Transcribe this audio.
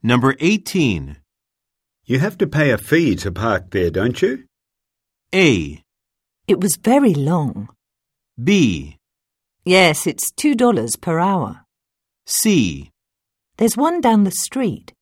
Number 18. You have to pay a fee to park there, don't you? A. It was very long. B. Yes, it's $2 per hour. C. There's one down the street.